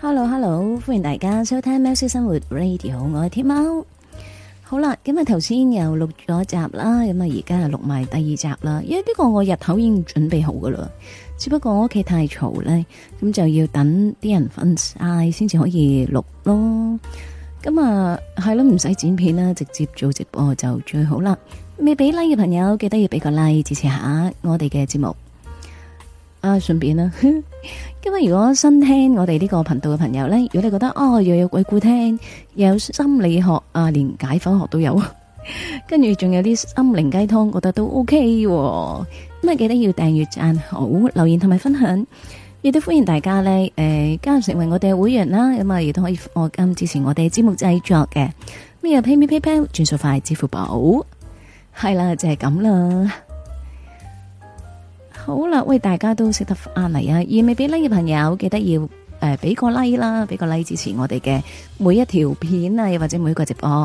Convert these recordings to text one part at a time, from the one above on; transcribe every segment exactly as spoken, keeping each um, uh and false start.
Hello Hello，歡迎大家收聽喵式生活 Radio， 我係天喵。好啦，咁啊頭先又錄咗集啦，咁啊而家又錄埋第二集啦。因為呢個我日頭已經準備好噶啦，只不過我屋企太嘈咧，咁就要等啲人瞓晒先至可以錄咯。咁啊係咯，唔使剪片啦，直接做直播就最好啦。未俾 like 嘅朋友記得要俾個 like 支持下我哋嘅節目。啊，順便啦，今日如果新聽我哋呢個頻道嘅朋友呢，如果你覺得哦又有鬼故聽，又有心理學啊，連解剖學都有，跟住仲有啲心靈雞湯，覺得都 OK 喎。咁啊，記得要訂閱、讚好、留言同埋分享，亦都歡迎大家呢誒、呃、加入成為我哋嘅會員啦。咁啊，亦都可以課金支持我哋節目製作嘅。咁有 PayMe、PayPal、轉數快、支付寶，係啦，就係咁啦。好啦，喂，大家都識得翻嚟啊！而未俾 like 嘅朋友，記得要誒俾、呃、個 like 啦，俾個 like 支持我哋嘅每一條片啊，又或者每一個直播。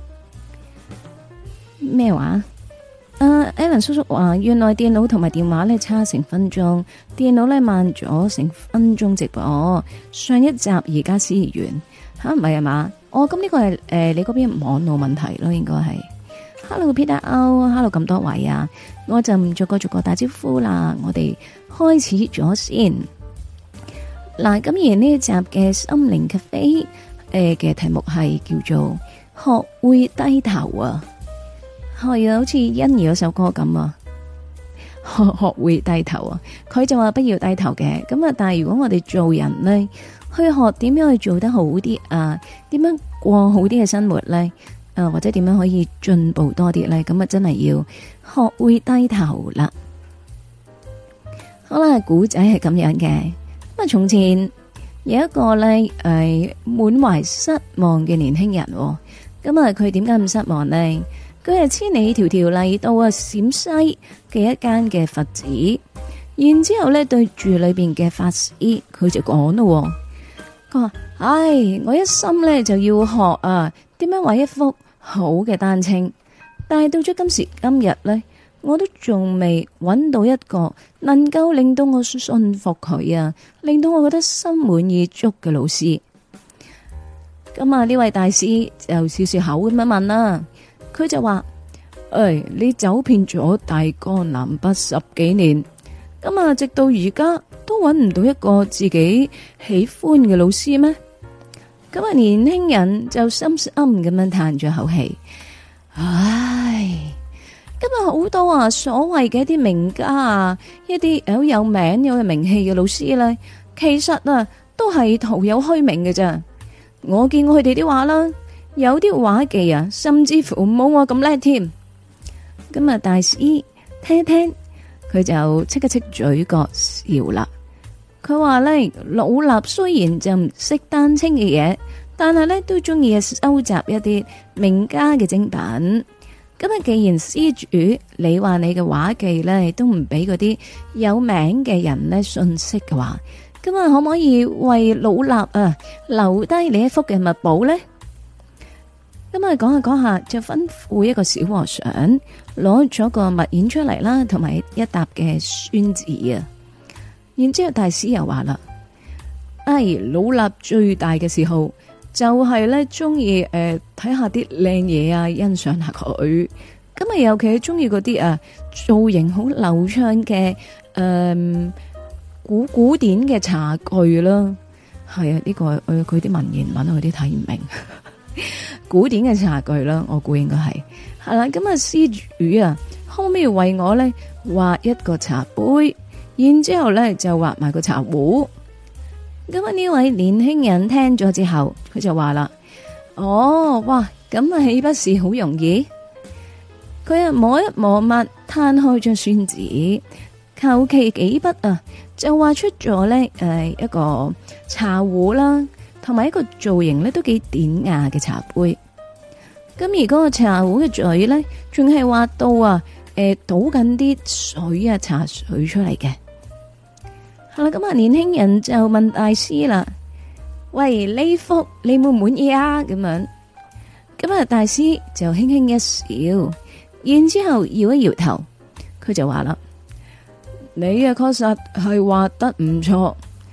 咩話？誒、uh, ，Alan 叔叔話，原來電腦同埋電話咧差成分鐘，電腦咧慢咗成分鐘直播。上一集而家先完，吓唔係啊嘛？哦，咁呢個係誒、呃、你嗰邊網絡問題咯，應該係。Hello Peter O，Hello 咁多位啊，我就唔逐個逐個打招呼啦，我哋開始咗先。嗱，咁而呢一集嘅心靈咖啡誒嘅題目係叫做學會低頭啊，係啊，好似欣宜嗰首歌咁啊，學學會低頭啊，佢就話不要低頭嘅，咁啊，但係如果我哋做人呢，去學點樣去做得好啲啊，點樣過好啲嘅生活呢？啊，或者點樣可以進步多啲咧？咁啊，真係要學會低頭啦。好啦，古仔係咁樣嘅。咁啊，從前有一個咧，誒、呃，滿懷失望嘅年輕人。咁啊，佢點解咁失望呢？佢係千里迢迢嚟到啊陝西嘅一間嘅佛寺，然之後咧對住裏邊嘅法師，佢就講咯。佢話：唉，我一心咧就要學啊。點樣畫一幅好嘅單清，但係到咗今時今日呢，我都仲未揾到一個能夠令到我信服佢啊，令到我覺得心滿意足嘅老師。咁啊，呢位大師就笑笑口咁樣問啦，佢就話：誒、哎，你走遍咗大江南北十幾年，咁啊，直到而家都揾唔到一個自己喜歡嘅老師咩？咁啊，年輕人就深深咁樣嘆咗口氣，唉，今日好多啊，所謂嘅一啲名家啊，一啲好有名有名氣嘅老師咧，其實啊都係徒有虛名嘅咋。我見過佢哋啲畫啦，有啲畫技啊，甚至乎冇我咁叻添。咁啊，大師聽一聽，佢就戚一戚嘴角笑啦。佢話咧，老衲雖然就唔識丹青嘅嘢，但係咧都中意收集一啲名家嘅精品。咁啊，既然施主你話你嘅畫技咧都唔俾嗰啲有名嘅人咧信息嘅話，咁啊可唔可以為老衲啊留低你一幅嘅墨寶咧？咁啊講下講下就吩咐一個小和尚攞咗個墨硯出嚟啦，同埋一沓嘅宣紙啊。然之後大師又話啦：哎，老衲最大嘅嗜好就係咧，中意誒睇下啲靚嘢啊，欣賞下佢。咁啊，尤其係中意嗰啲啊造型好流暢嘅誒古古典嘅茶具啦。係啊，呢、這個誒佢啲文言文我啲睇唔明。古典嘅茶具啦，我估應該係係啦。咁啊，施主啊，可唔可以為我咧畫一個茶杯？然之後咧就畫埋個茶壺。咁啊，呢位年輕人聽咗之後，佢就話啦：哦，哇，咁啊豈不是好容易？佢啊摸一摸墨，攤開張宣紙，求其幾筆啊，就畫出咗咧誒一個茶壺啦，同埋一個造型咧都幾典雅嘅茶杯。咁而嗰個茶壺嘅嘴咧，仲係畫到啊誒倒緊啲水啊茶水出嚟嘅。好啦，咁啊，年輕人就問大師啦：喂，呢幅你滿唔滿意啊？咁樣，咁啊，大師就輕輕一笑，然之後搖一搖頭，佢就話啦：你啊，確實係畫得唔錯。咁啊，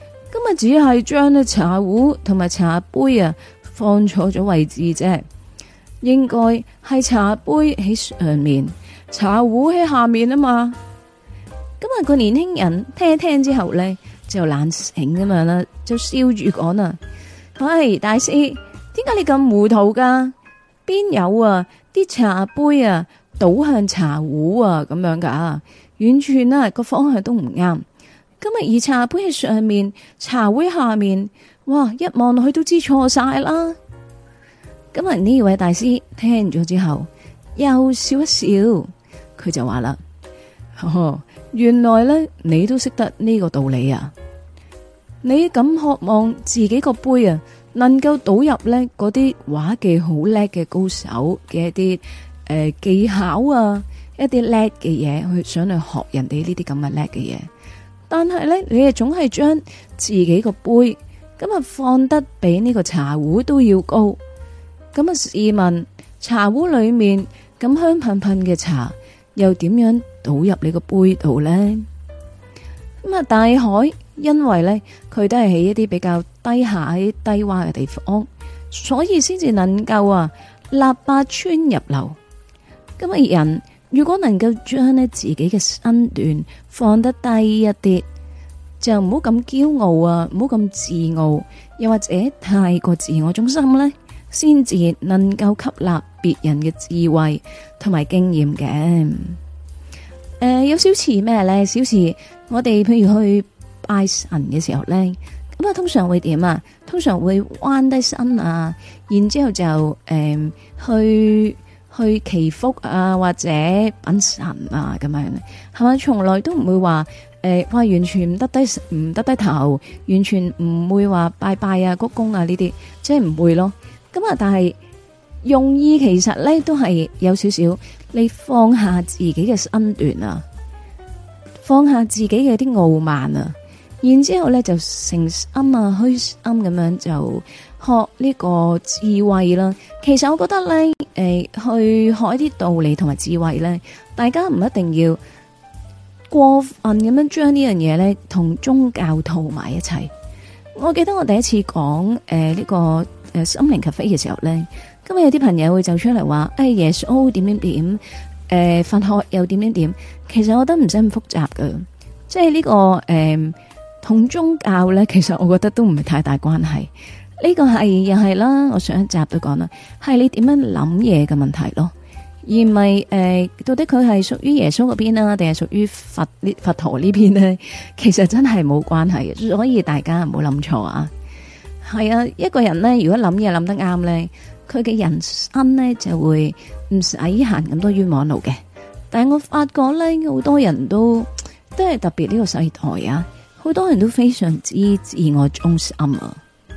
啊只係將呢茶壺同埋茶杯啊放錯咗位置啫，應該係茶杯喺上面，茶壺喺下面啊嘛。咁啊個年輕人聽一聽之後咧就懶醒咁樣啦，就笑住講啦：喂，大師，點解你咁糊塗噶？邊有啊啲茶杯啊倒向茶壺啊咁樣噶？完全啊個方向都唔啱。今日而茶杯喺上面，茶壺下面，哇！一望落去都知錯晒啦。今日呢位大師聽咗之後，又笑一笑，佢就話啦：哦，原來咧你都識得呢個道理啊！你咁渴望自己個杯啊，能夠倒入咧嗰啲畫技好叻嘅高手嘅一啲誒、呃、技巧啊，一啲叻嘅嘢，去想去學人哋呢啲咁嘅叻嘅嘢。但係咧，你係總係將自己個杯咁啊放得比呢個茶壺都要高。咁啊，試問茶壺裏面咁香噴噴嘅茶，又點樣倒入你個杯度呢？咁啊，大海因為咧佢都係喺一啲比較低下、喺低洼嘅地方，所以先至能夠啊立八川入流。咁啊，人如果能夠將呢自己嘅身段放得低一啲，就唔好咁驕傲啊，唔好咁自傲，又或者太過自我中心呢，先至能夠吸納別人嘅智慧同埋經驗嘅。誒、呃，有少似咩呢？小似我哋譬如去拜神嘅時候呢，咁啊通常會點啊？通常會彎低身啊，然之後就誒、呃、去。去祈福啊，或者稟神啊，咁樣係咪？從來都唔會話誒，話、呃、完全唔得低唔得低頭，完全唔會話拜拜啊、鞠躬啊呢啲，即係唔會咯。咁啊，但係用意其實咧都係有少少，你放下自己嘅身段啊，放下自己嘅啲傲慢啊，然之後咧就誠心啊、虛心咁樣就學呢個智慧啦。其實我覺得咧，誒、呃，去學一啲道理同埋智慧咧，大家唔一定要過分咁樣將呢樣嘢咧同宗教套埋一齊。我記得我第一次講誒呢個誒、呃、心靈咖啡嘅時候咧，今日有啲朋友會走出嚟話，誒耶穌點點點，誒、呃、佛學又點點點。其實我覺得唔使咁複雜噶，即係呢、這個誒同、呃、宗教咧，其實我覺得都唔係太大關係。呢個係又係啦，我上一集都講啦，係你點樣諗嘢嘅問題咯，而唔係誒到底佢係屬於耶穌嗰邊啊，定係屬於佛呢佛陀呢邊呢？其實真係冇關係嘅，所以大家唔好諗錯啊。係啊，一個人呢，如果諗嘢諗得啱呢，佢嘅人生呢就會唔使行咁多冤枉路嘅。但係我發覺呢，好多人都都係特別呢個世代啊，好多人都非常之自我中心啊。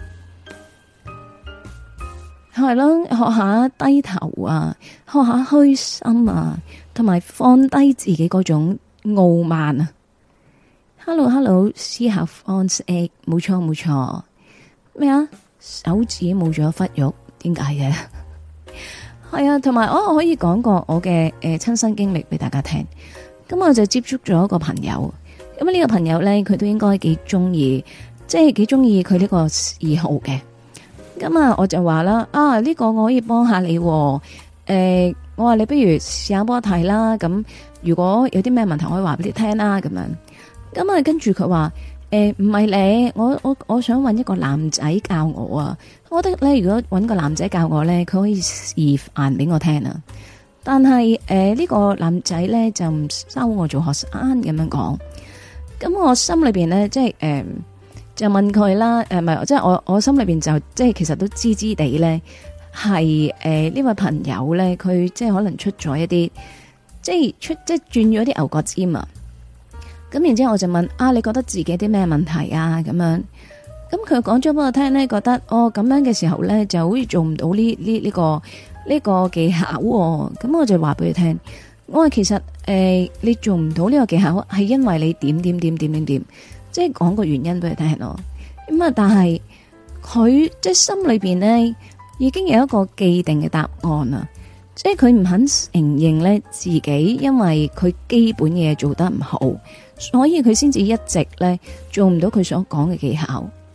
係咯，學下低頭啊，學下虛心啊，同埋放低自己嗰種傲慢啊。Hello，Hello， 思考方式，冇錯冇錯。咩啊？手指冇咗忽肉，點解嘅？係啊，同埋我可以講個我嘅誒親身經歷俾大家聽。咁我就接觸咗一個朋友，咁呢個朋友咧，佢都應該幾中意，即係幾中意佢呢個嗜好嘅。咁啊，我就話啦，啊呢、這個我可以幫下你，誒、呃，我話你不如試下幫我睇啦。咁如果有啲咩問題，我可以話俾你聽啦。咁樣，咁啊，跟住佢話，誒唔係你，我我我想搵一個男仔教我啊。我覺得咧，如果搵個男仔教我咧，佢可以示範俾我聽啊。但係誒呢個男仔咧就唔收我做學生咁樣講。咁我心裏邊咧，即係誒。呃就問佢啦，誒，唔係，即係我我心裏邊就即係其實都知知地咧，係誒呢位朋友咧，佢即係可能出咗一啲，即係出即係轉咗啲牛角尖啊。咁然之後我就問啊，你覺得自己啲咩問題啊？咁樣，咁佢講咗俾我聽咧，覺得哦咁樣嘅時候咧，就好似做唔到呢呢呢個呢、呢個技巧、啊。咁我就話俾佢聽，我話其實誒、呃、你做唔到呢個技巧，係因為你點點點點點點。即係講個原因俾佢聽咯，咁啊，但係佢即係心裏邊咧已經有一個既定嘅答案啦，即係佢唔肯承認咧自己，因為佢基本嘢做得唔好，所以佢先至一直咧做唔到佢所講嘅技巧。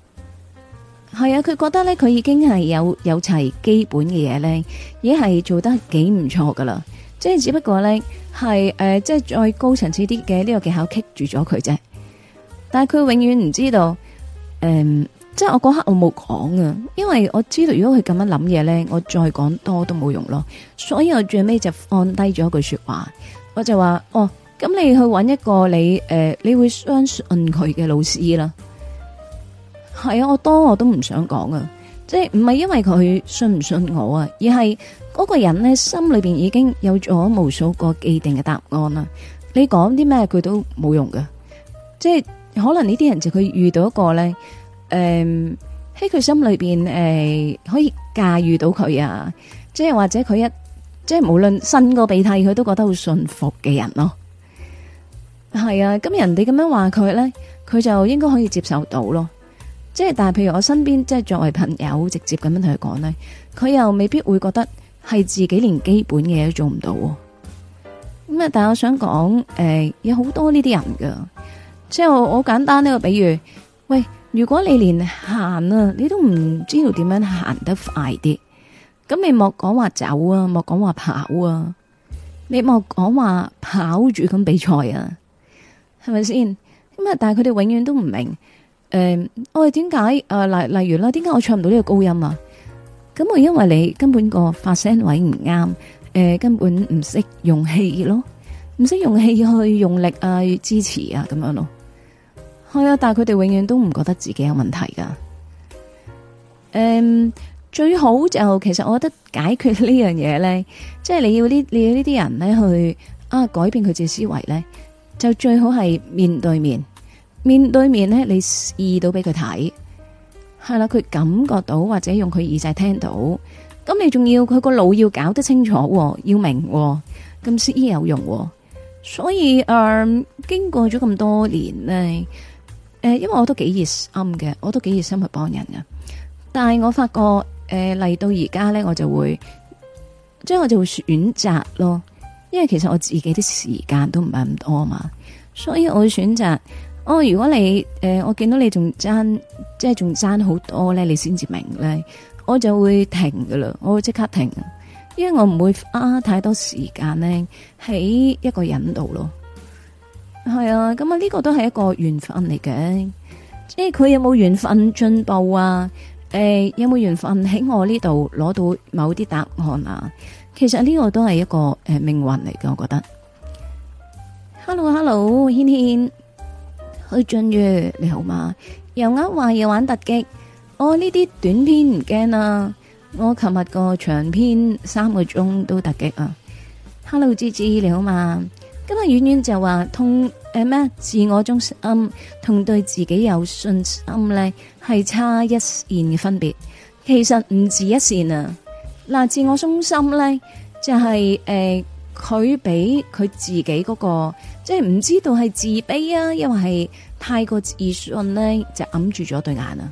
係啊，佢覺得咧，佢已經係有有齊基本嘅嘢咧，已經係做得幾唔錯噶啦。即係只不過咧，係誒、呃，即係再高層次啲嘅呢個技巧棘住咗佢啫。但係佢永遠唔知道，誒、呃，即係我嗰刻我冇講啊，因為我知道如果佢咁樣諗嘢咧，我再講多都冇用咯。所以我最尾就放低咗一句說話，我就話：哦，咁你去揾一個你誒、呃，你會相信佢嘅老師啦。係啊，我多我都唔想講啊，即係唔係因為佢信唔信我啊，而係嗰個人咧心裏邊已經有咗無數個既定嘅答案啦。你講啲咩佢都冇用㗎，即係可能呢啲人就佢遇到一個咧，誒喺佢心裏邊誒、呃、可以駕馭到佢啊，即係或者佢一即係無論擤個鼻涕佢都覺得好信服嘅人咯。係啊，咁人哋咁樣話佢咧，佢就應該可以接受到咯。即係，但係譬如我身邊，即係作為朋友，直接咁樣同佢講咧，佢又未必會覺得係自己連基本嘅嘢都做唔到。咁啊，但係我想講，誒、呃，有好多呢啲人噶，即係我好簡單呢個比喻。喂，如果你連行啊，你都唔知道點樣行得快啲，咁你莫講話走啊，莫講話跑啊，你莫講話跑住咁比賽啊，係咪先？咁啊，但係佢哋永遠都唔明。誒、呃，我哋點解誒，例例如啦，點解我唱唔到呢個高音啊？咁我因為你根本個發聲位唔啱，誒、呃，根本唔識用氣咯，唔識用氣去用力啊，去支持啊，咁樣咯。係啊，但係佢哋永遠都唔覺得自己有問題噶。誒、呃，最好就其實我覺得解決呢樣嘢咧，即係你要呢，你要呢啲人咧去啊改變佢自己思維咧，就最好係面對面。面對面咧，你試到俾佢睇，係啦，佢感覺到或者用佢耳仔聽到，咁你仲要佢個腦要搞得清楚，要明，咁先有用。所以誒、呃，經過咗咁多年咧，誒、呃，因為我都幾熱心嘅，我都幾熱心去幫人嘅，但係我發覺誒嚟到而家咧，我就會，即係我就會選擇咯，因為其實我自己啲時間都唔係咁多嘛，所以我會選擇。哦，如果你誒、呃，我見到你仲爭，即係仲爭好多咧，你先至明咧，我就會停噶啦，我會即刻停，因為我唔會花太多時間咧喺一個人度咯。係啊，咁啊呢個都係一個緣分嚟嘅，即係佢有冇緣分進步啊？誒、呃，有冇緣分喺我呢度攞到某啲答案啊？其實呢個都係一個誒、呃、命運嚟嘅，我覺得。Hello，Hello，軒軒。去進入你好嘛？又啱話要玩突擊，我呢啲短篇唔驚啊！我琴日個長篇三個鐘都突擊啊 ！Hello，芝芝你好嘛？今日遠遠就話同誒咩自我中心同對自己有信心咧，係差一線嘅分別。其實唔止一線啊！嗱，自我中心咧就係、是、誒，佢俾佢自己嗰、那個。即係唔知道係自卑啊，因為係太過自信咧，就揞住咗對眼啊。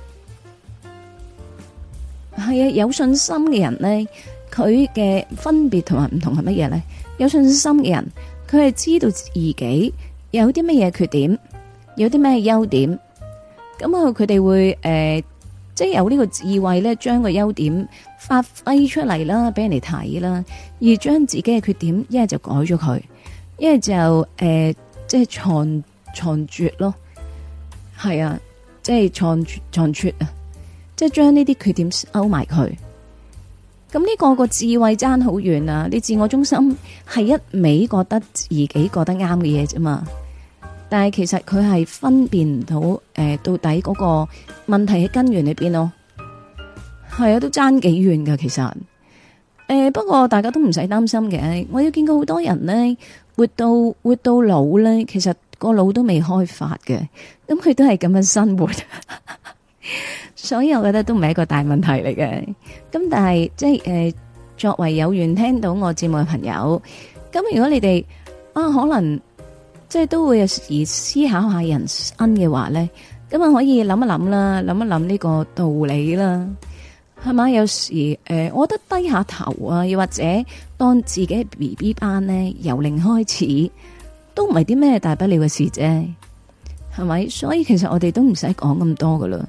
係啊，有信心嘅人咧，佢嘅分別同埋唔同係乜嘢咧？有信心嘅人，佢係知道自己有啲乜嘢缺點，有啲咩優點，咁啊，佢哋會誒、呃，即係有呢個智慧咧，將個優點發揮出嚟啦，俾人哋睇啦，而將自己嘅缺點一係就改咗佢。因為就誒、呃，即係藏藏拙咯，係啊，即係藏藏拙啊，即係將呢啲缺點勾埋佢。咁呢個個智慧爭好遠啊！你自我中心係一味覺得自己覺得啱嘅嘢啫嘛，但係其實佢係分辨唔到誒、呃，到底嗰個問題喺根源裏邊咯。係啊，都爭幾遠噶，其實。誒、呃，不過大家都唔使擔心嘅，我有見過好多人咧。活到活到老咧，其實個腦都未開發嘅，咁佢都係咁樣生活，所以我覺得都唔係一個大問題嚟嘅。咁但係即係誒，作為有緣聽到我節目嘅朋友，咁如果你哋啊可能即係都會有時思考下人生嘅話咧，咁啊可以諗一諗啦，諗一諗呢個道理啦。係嘛？有時誒、呃，我覺得低下頭啊，又或者當自己 B B 班咧，由零開始，都唔係啲咩大不了嘅事啫。係咪？所以其實我哋都唔使講咁多噶啦。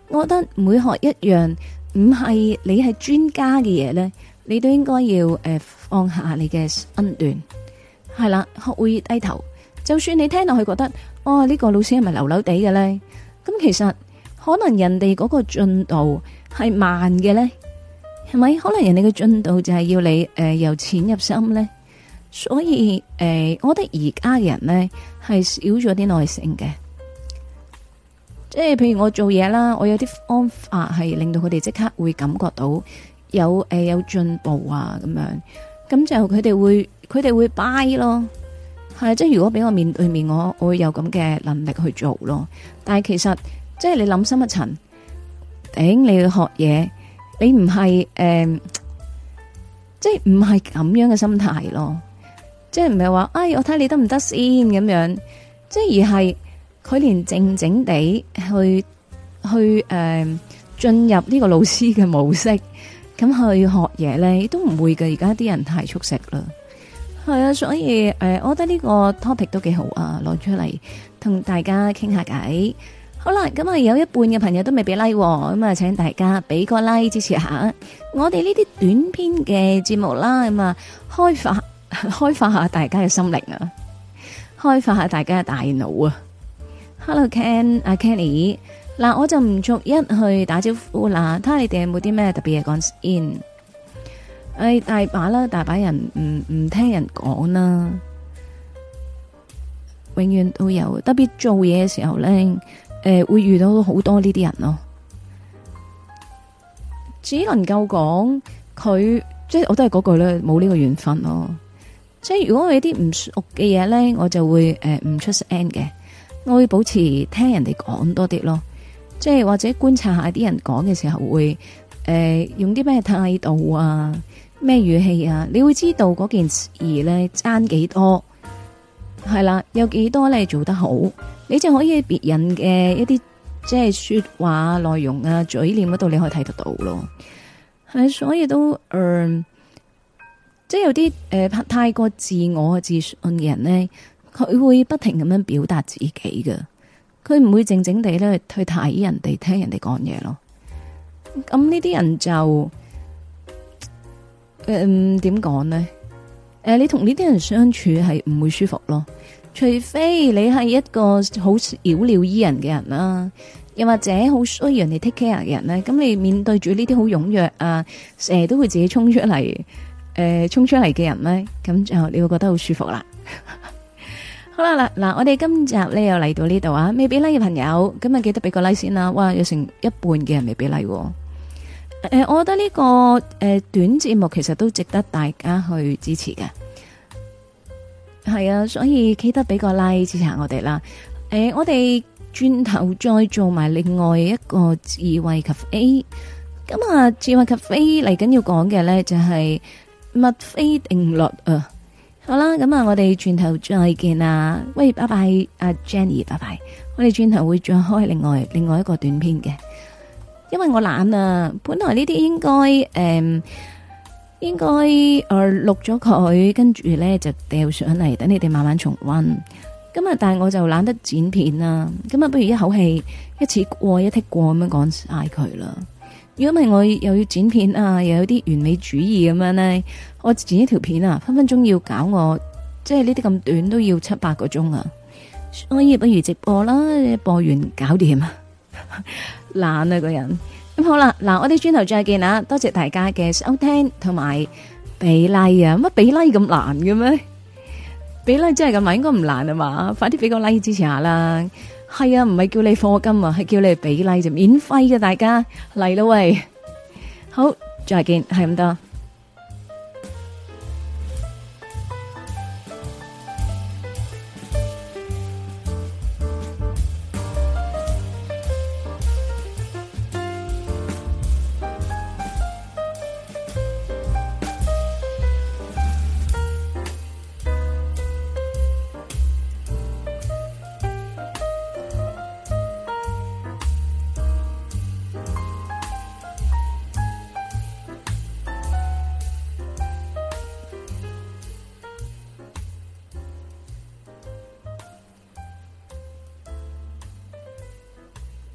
我覺得每學一樣唔係你係專家嘅嘢咧，你都應該要誒、呃、放下你嘅身段，係啦，學會低頭。就算你聽落去覺得，哦呢、這個老師係咪流流地嘅咧？咁其實可能人哋嗰個進度係慢嘅咧，係咪？可能人哋嘅進度就係要你誒、呃、由淺入深咧。所以誒、呃，我覺得而家嘅人咧係少咗啲耐性嘅。即係譬如我做嘢啦，我有啲方法係令到佢哋即刻會感覺到有誒、呃、有進步啊咁樣，咁就佢哋會佢哋會 buy 咯。係，即係如果俾我面對面，我我會有咁嘅能力去做咯。但係其實即係你諗深一層，頂你去學嘢，你唔係誒，即係唔係咁樣嘅心態咯。即係唔係話，哎，我睇你得唔得先咁樣。即係而係佢連靜靜地去去誒進入呢個老師嘅模式，咁去學嘢咧，都唔會嘅。而家啲人太速食啦。係啊，所以誒、呃，我覺得呢個 topic 都幾好啊，攞出嚟同大家傾下偈。好啦，咁啊有一半嘅朋友都未俾 like，咁啊請大家俾個 like 支持下我哋呢啲短篇嘅節目啦，咁啊開發開發下大家嘅心靈啊，開發下大家嘅大腦啊。Hello Ken，阿 Kenny，嗱我就唔逐一去打招呼啦，睇下你哋有冇啲咩特別嘢講先。誒、哎，大把啦，大把人唔唔聽人講啦，永遠都有，特別做嘢嘅時候咧，誒、呃、會遇到好多呢啲人咯。只能夠講佢，即係我都係嗰句咧，冇呢個緣分咯。即係如果我有啲唔熟嘅嘢咧，我就會誒唔、呃、出聲嘅，我會保持聽人哋講多啲咯。即係或者觀察下啲人講嘅時候會，會、呃、誒用啲咩態度啊？咩語氣啊？你會知道嗰件事咧爭幾多，係啦，有幾多咧做得好，你就可以喺別人嘅一啲即係說話內容啊、嘴臉嗰度，你可以睇得到咯。係，所以都誒、呃，即係有啲誒、呃、太過自我自信嘅人咧，佢會不停咁樣表達自己嘅，佢唔會靜靜地咧去睇人哋聽人哋講嘢咯。咁呢啲人就。誒，點講呢？誒，你同呢啲人相處係唔會舒服咯，除非你係一個好小鳥依人嘅人啦，又或者好需要人哋 take care 嘅人咧。咁你面對住呢啲好踴躍啊，成日都會自己衝出嚟，誒、呃，衝出嚟嘅人咧，咁就你會覺得好舒服啦。好啦，嗱嗱，我哋今集咧又嚟到呢度啊，未俾 like 嘅朋友，咁啊記得俾個 like 先啦。哇，有成一半嘅人未俾 like。誒、呃，我覺得呢、這個誒、呃、短節目其實都值得大家去支持嘅，係啊，所以記得俾個 like 支持下我哋啦。誒、呃，我哋轉頭再做埋另外一個智慧 cafe，咁啊，智慧 cafe 嚟緊要講嘅咧就係墨菲定律啊。好啦，咁啊，我哋轉頭再見啦。喂，拜拜，阿 Jenny， 拜拜。我哋轉頭會再開另外另外一個短篇嘅。因為我懶啊，本來呢啲應該誒、嗯，應該誒錄咗佢，跟住咧就掉上嚟，等你哋慢慢重溫。咁啊，但係我就懶得剪片啦，咁啊，不如一口氣一次過一剔過咁樣講晒佢啦。如果唔係我又要剪片啊，又有啲完美主義咁樣咧，我剪一條片啊，分分鐘要搞我，即係呢啲咁短都要七八個鐘啊。所以不如直播啦，播完搞掂啊。懶啊個人，咁好啦，嗱我哋轉頭再見啦，多謝大家嘅收聽同埋俾 like 啊，乜俾 like 咁難嘅咩？俾 like 真係咁難，應該唔難啊嘛，快啲俾個 like 支持下啦。係啊，唔係叫你課金啊，係叫你俾 like 就免費嘅，大家嚟啦喂，好再見，係咁多。